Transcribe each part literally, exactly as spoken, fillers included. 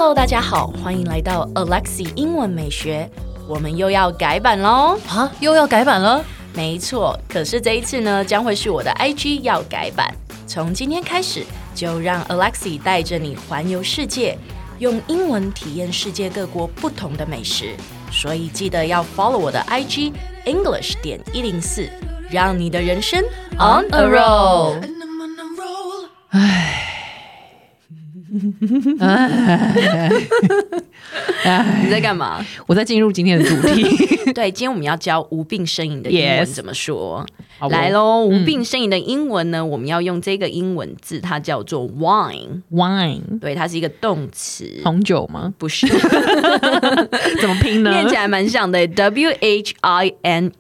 Hello， 大家好，歡迎來到 Alexi 英文美學，我們又要改版嘍！ 啊，又要改版了？ 沒錯，可是這一次呢，將會是我的 I G 要改版。從今天開始，就讓 Alexi 帶着你環遊世界，用英文體驗世界各國不同的美食。所以記得要 follow 我的 I G English 點一零四，讓你的人生 on a roll。 唉。 你在幹嘛？ 我在進入今天的主題。 對，今天我們要教無病呻吟的英文怎麼說。 Yes. 來咯，無病呻吟的英文呢、嗯，我們要用這個英文字，它叫做 wine。wine， 對，它是一個動詞。 紅酒嗎？不是。怎麼拼呢？ 念起來蠻像的 ，W H I N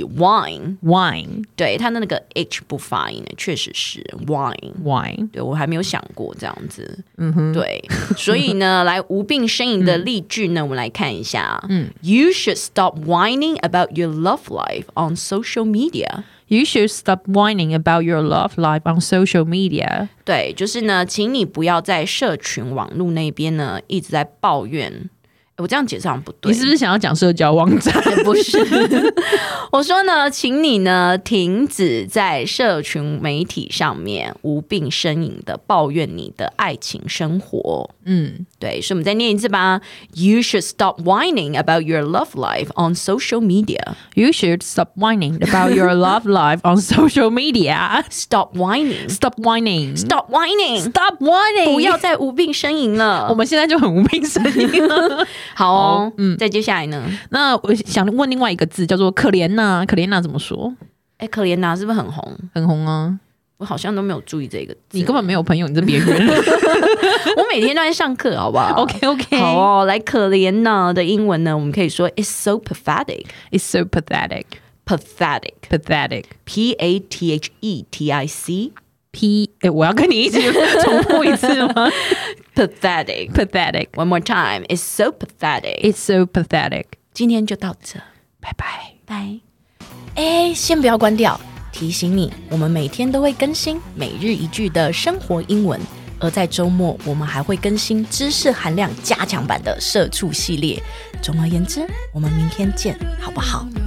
E，wine。wine， 對，它的那個 H 不發音的，確實是 wine。wine， 對，我還沒有想過這樣子。嗯哼，對，所以呢，來無病呻吟的例句呢，嗯、我們來看一下。嗯 ，You should stop whining about your love life on social media. You should stop whining about your love life on social media. 對，就是呢，請你不要在社群網絡那邊呢一直在抱怨。我這樣解釋好像不對， 你是不是想要講社交網站？ 不是，我說呢，請你呢停止在社群媒體上面無病呻吟的抱怨你的愛情生活。嗯，對，所以我們再念一次吧。You should stop whining about your love life on social media. You should stop whining about your love life on social media. Stop whining. Stop whining. Stop whining. Stop whining. 不要再無病呻吟了。 我們現在就很無病呻吟了。 好哦，嗯，再接下來呢？ 那我想問另外一個字，叫做可憐吶。可憐吶怎麼說？ 哎，可憐吶是不是很紅？ 很紅啊！ 我好像都沒有注意這個字。 你根本沒有朋友，你這邊緣。 我每天都在上課，好不好 ？OK OK。 好哦，來可憐吶的英文呢，我們可以說 It's so pathetic. It's so pathetic. Pathetic. Pathetic. P A T H E T I C. P， 哎，我要跟你一起重複一次嗎 ？Pathetic. Pathetic. One more time. It's so pathetic. It's so pathetic. 今天就到這， 拜拜拜。哎，先不要關掉，提醒你，我們每天都會更新每日一句的生活英文，而在週末我們還會更新知識含量加強版的社畜系列。總而言之，我們明天見，好不好？